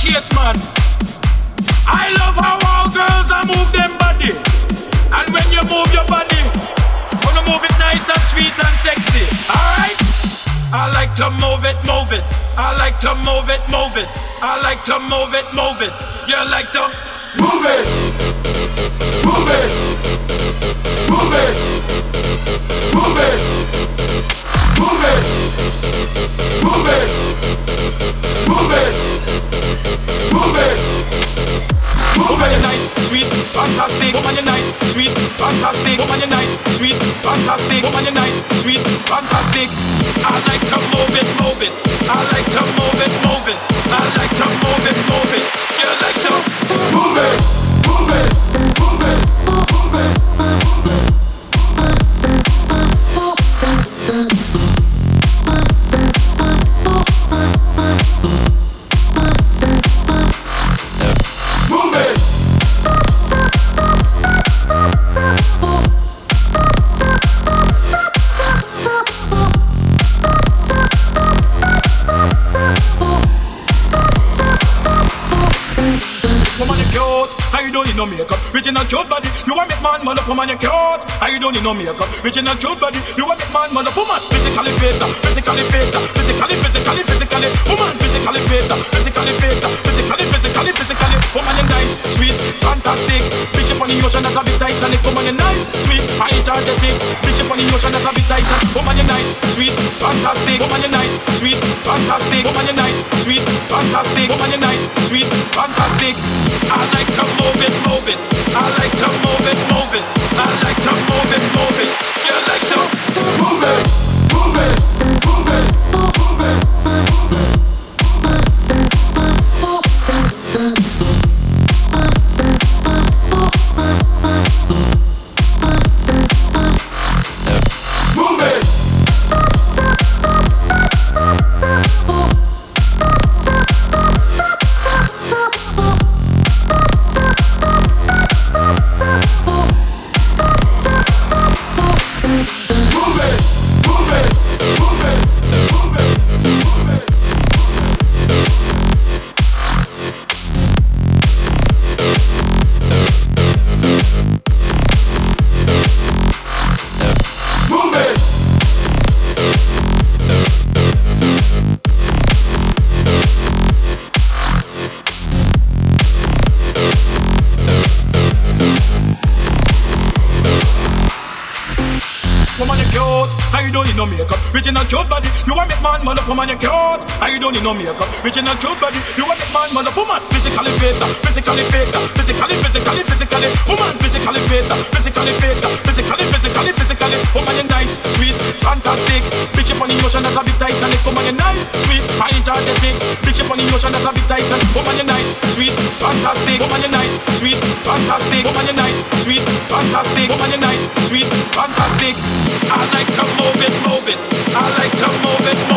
case, man. I love how all girls are move them body. And when you move your body, wanna move it nice and sweet and sexy. Alright? I like to move it, move it. I like to move it, move it. I like to move it, move it. You like to move it, move it, move it, move it, move it, move it, move it, move it. Move on your night, sweet, fantastic. Move on your night, sweet, fantastic. Move on your night, sweet, fantastic. Move on your night, sweet, fantastic. I like to move it, move it. I like to move it, move it. I like to move it, move it. You like to move it, move it, move it, move it, move it. No makeup, original cute body. You want make man, mother woman, you cute. I don't need no makeup, original cute body. You want make man, mother woman, physically fit, physically fit, physically, physically, physically, woman, physically fit, physically fit, physically, physically, physically. Woman, you nice, sweet, fantastic. Bitch up on the ocean, that a bit Titanic. Woman, you nice, sweet, energetic. Bitch up on the ocean, that a bit Titanic. Woman, you nice, sweet, fantastic. Woman, you nice, sweet, fantastic. Woman, you nice, sweet, fantastic. Woman, you nice, sweet, fantastic. I like to move it, move it. I like to move it, move it. I like to move it, move it. You like to move it, move it, move it, move it, move it. Original cute body, you want make man, mother woman, you cute. I don't need no makeup. Original cute body, you want make man, mother woman, physically fit, physically fit, physically, physically, physically, woman, physically fit, physically fit, physically, physically, physically, woman, you nice, sweet, fantastic. Bitch up on the ocean, that a bit Titanic. Woman, you nice, sweet, energetic. Bitch up on the ocean, that a bit Titanic. Woman, you nice, sweet, fantastic. Woman, you nice, sweet, fantastic. Woman, you nice, sweet, fantastic. Woman, you nice, sweet, fantastic. I like to move it, move it. I like to move it,